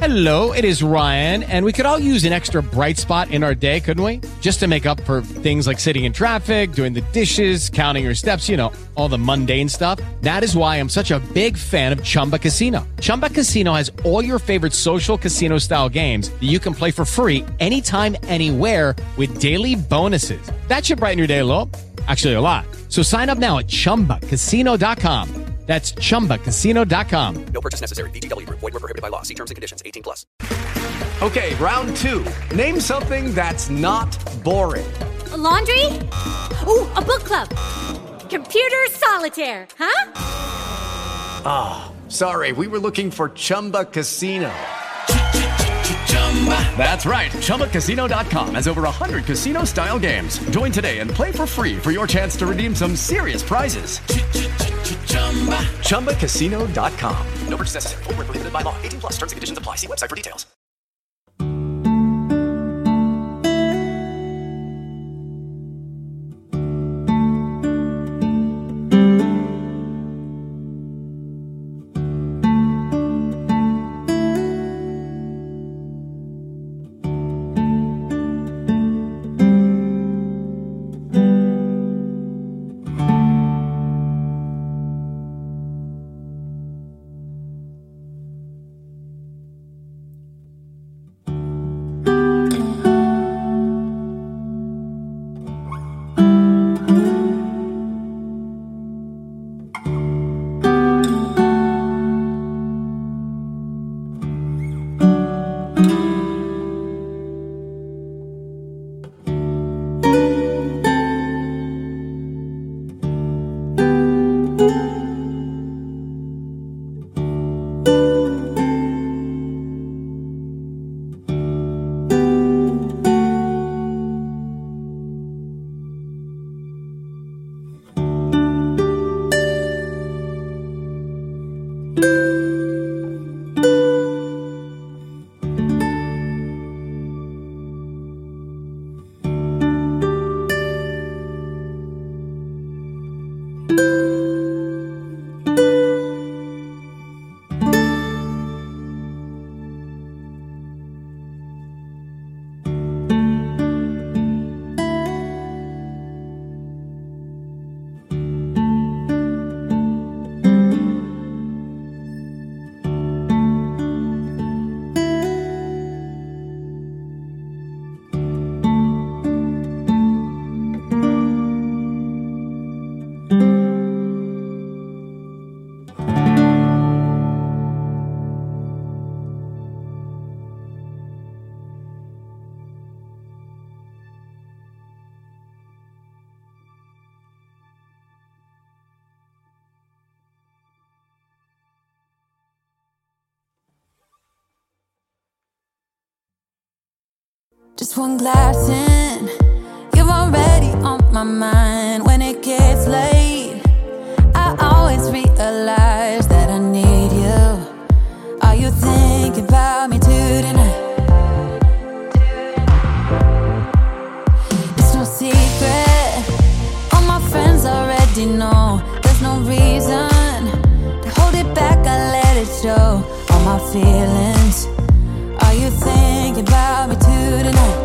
Hello, it is Ryan, and we could all use an extra bright spot in our day, couldn't we? Just to make up for things like sitting in traffic, doing the dishes, counting your steps, you know, all the mundane stuff. That is why I'm such a big fan of Chumba Casino. Chumba Casino has all your favorite social casino-style games that you can play for free anytime, anywhere with daily bonuses. That should brighten your day a little. Actually, a lot. So sign up now at ChumbaCasino.com. That's ChumbaCasino.com. No purchase necessary. VGW Group. Void where prohibited by law. See terms and conditions. 18+. Okay, round two. Name something that's not boring. A laundry? Ooh, a book club. Computer solitaire, huh? Ah, oh, sorry. We were looking for Chumba Casino. That's right. ChumbaCasino.com has over 100 casino-style games. Join today and play for free for your chance to redeem some serious prizes. ChumbaCasino.com. No purchase necessary. Void where prohibited by law. 18+. Terms and conditions apply. See website for details. Just one glass in, you're already on my mind. When it gets late, I always realize that I need you. Are you thinking about me tonight? It's no secret, all my friends already know. There's no reason to hold it back, I let it show. All my feelings, are you thinking about me tonight?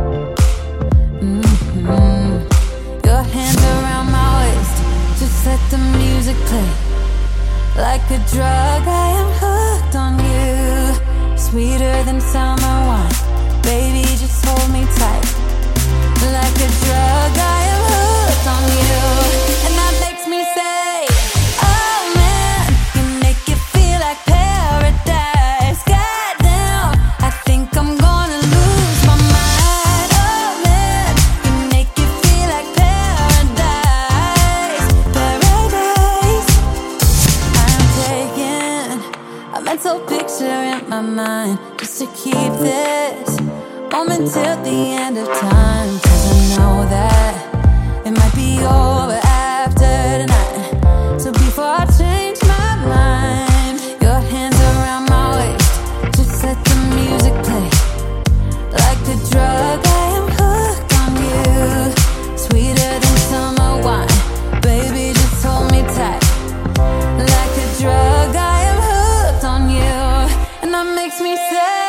Your hands around my waist, just let the music play. Like a drug, I am hooked on you. Sweeter than summer wine, baby, just hold me tight. Like a drug, I am hooked on you. And that makes me say, oh man, you make it feel like paradise. Goddamn, I think I'm gonna lose my mind. Oh man, you make it feel like paradise. Paradise. I'm taking a mental picture in my mind just to keep this moment till the end of time. 'Cause I know that it might be over after tonight. So before I change my mind, your hands around my waist, just let the music play. Like a drug, I am hooked on you. Sweeter than summer wine, baby, just hold me tight. Like a drug, I am hooked on you. And that makes me say,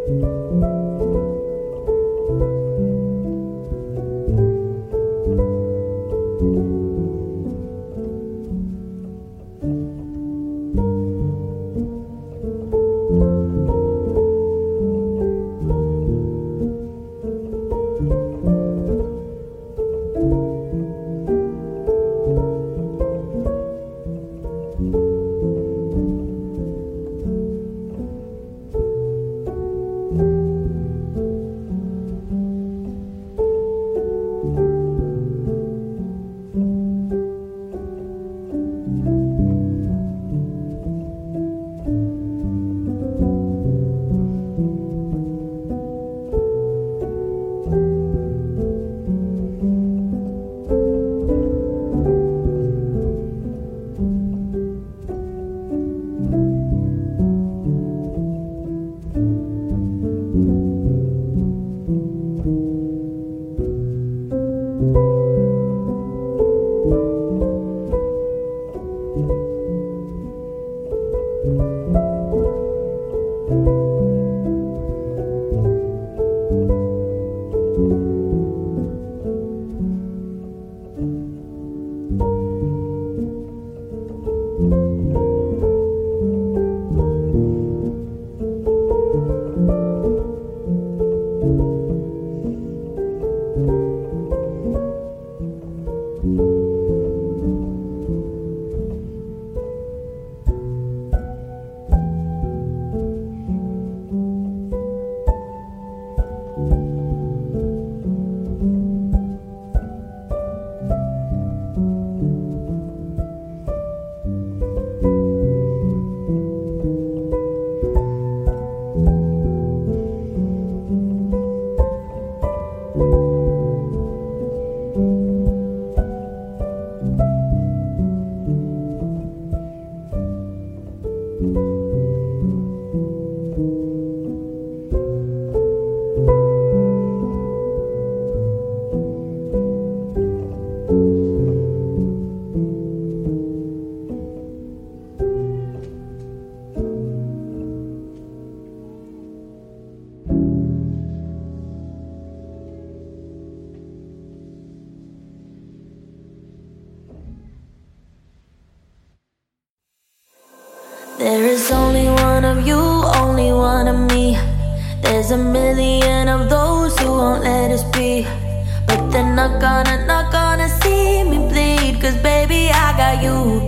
There is only one of you, only one of me. There's a million of those who won't let us be. But they're not gonna see me bleed. Cause baby, I got you.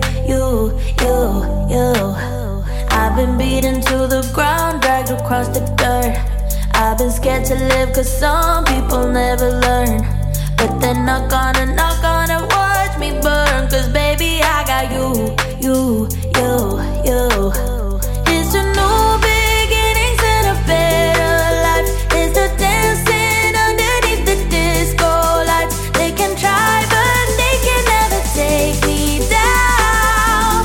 I've been beaten to the ground, dragged across the dirt. I've been scared to live cause some people never learn. But they're not gonna watch me burn. Cause baby, I got you. It's a new beginnings and a better life. It's the dancing underneath the disco lights. They can try but they can never take me down.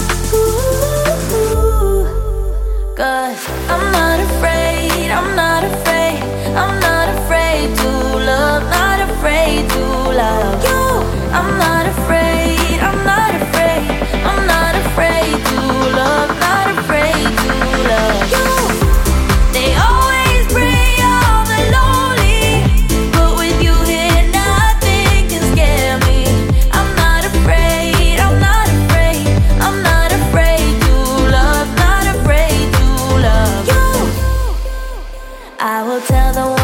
Cause I'm not afraid, I'm not afraid, I'm not afraid to love, not afraid to love you. I'm not afraid, I'm not afraid, I'm not afraid to love, not afraid to love you. They always bring all the lonely, but with you here nothing can scare me. I'm not afraid, I'm not afraid, I'm not afraid to love, not afraid to love you. I will tell the